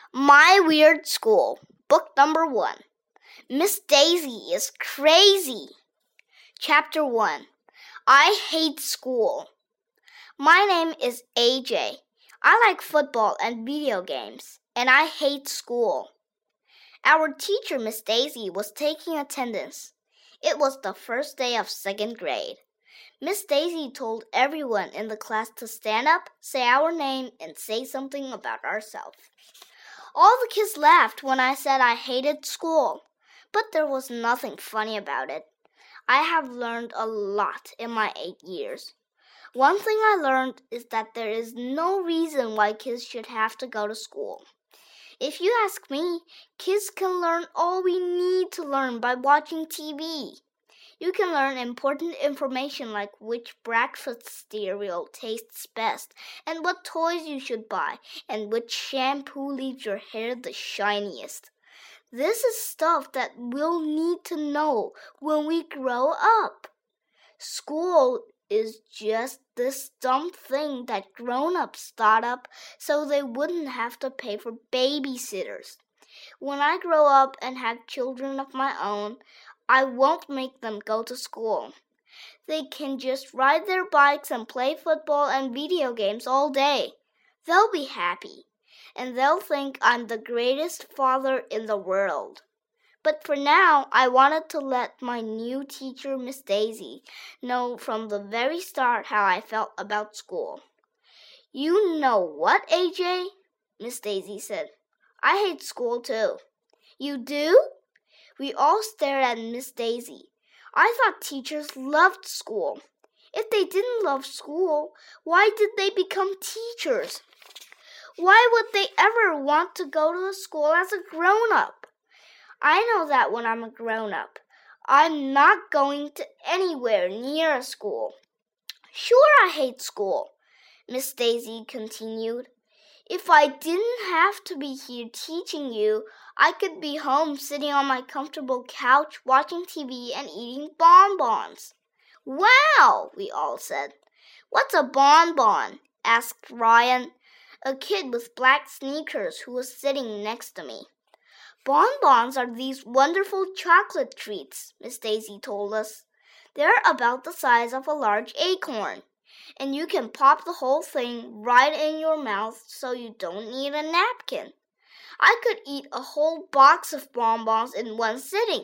My Weird School, Book Number 1. Miss Daisy is Crazy. Chapter 1. I Hate School. My name is AJ. I like football and video games, and I hate school. Our teacher, Miss Daisy, was taking attendance. It was the first day of second grade. Miss Daisy told everyone in the class to stand up, say our name, and say something about ourselves. All the kids laughed when I said I hated school, but there was nothing funny about it. I have learned a lot in my 8 years. One thing I learned is that there is no reason why kids should have to go to school. If you ask me, kids can learn all we need to learn by watching TV. You can learn important information like which breakfast cereal tastes best, and what toys you should buy, and which shampoo leaves your hair the shiniest. This is stuff that we'll need to know when we grow up. School is just this dumb thing that grown-ups thought up so they wouldn't have to pay for babysitters. When I grow up and have children of my own, I won't make them go to school. They can just ride their bikes and play football and video games all day. They'll be happy, and they'll think I'm the greatest father in the world. But for now, I wanted to let my new teacher, Miss Daisy, know from the very start how I felt about school. You know what, AJ? Miss Daisy said. I hate school too. You do? We all stared at Miss Daisy. I thought teachers loved school. If they didn't love school, why did they become teachers? Why would they ever want to go to a school as a grown-up? I know that when I'm a grown-up, I'm not going to anywhere near a school. Sure, I hate school, Miss Daisy continued. If I didn't have to be here teaching you, I could be home sitting on my comfortable couch watching TV and eating bonbons. Wow, we all said. What's a bonbon? Asked Ryan, a kid with black sneakers who was sitting next to me. Bonbons are these wonderful chocolate treats, Miss Daisy told us. They're about the size of a large acorn, and you can pop the whole thing right in your mouth so you don't need a napkin. I could eat a whole box of bonbons in one sitting.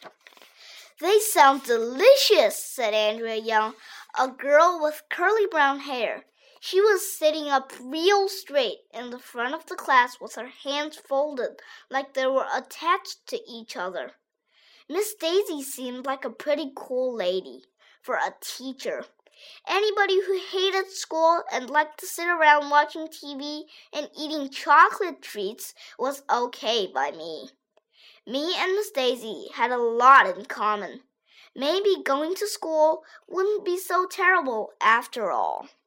They sound delicious, said Andrea Young, a girl with curly brown hair. She was sitting up real straight in the front of the class with her hands folded like they were attached to each other. Miss Daisy seemed like a pretty cool lady for a teacher. Anybody who hated school and liked to sit around watching TV and eating chocolate treats was okay by me. Me and Miss Daisy had a lot in common. Maybe going to school wouldn't be so terrible after all.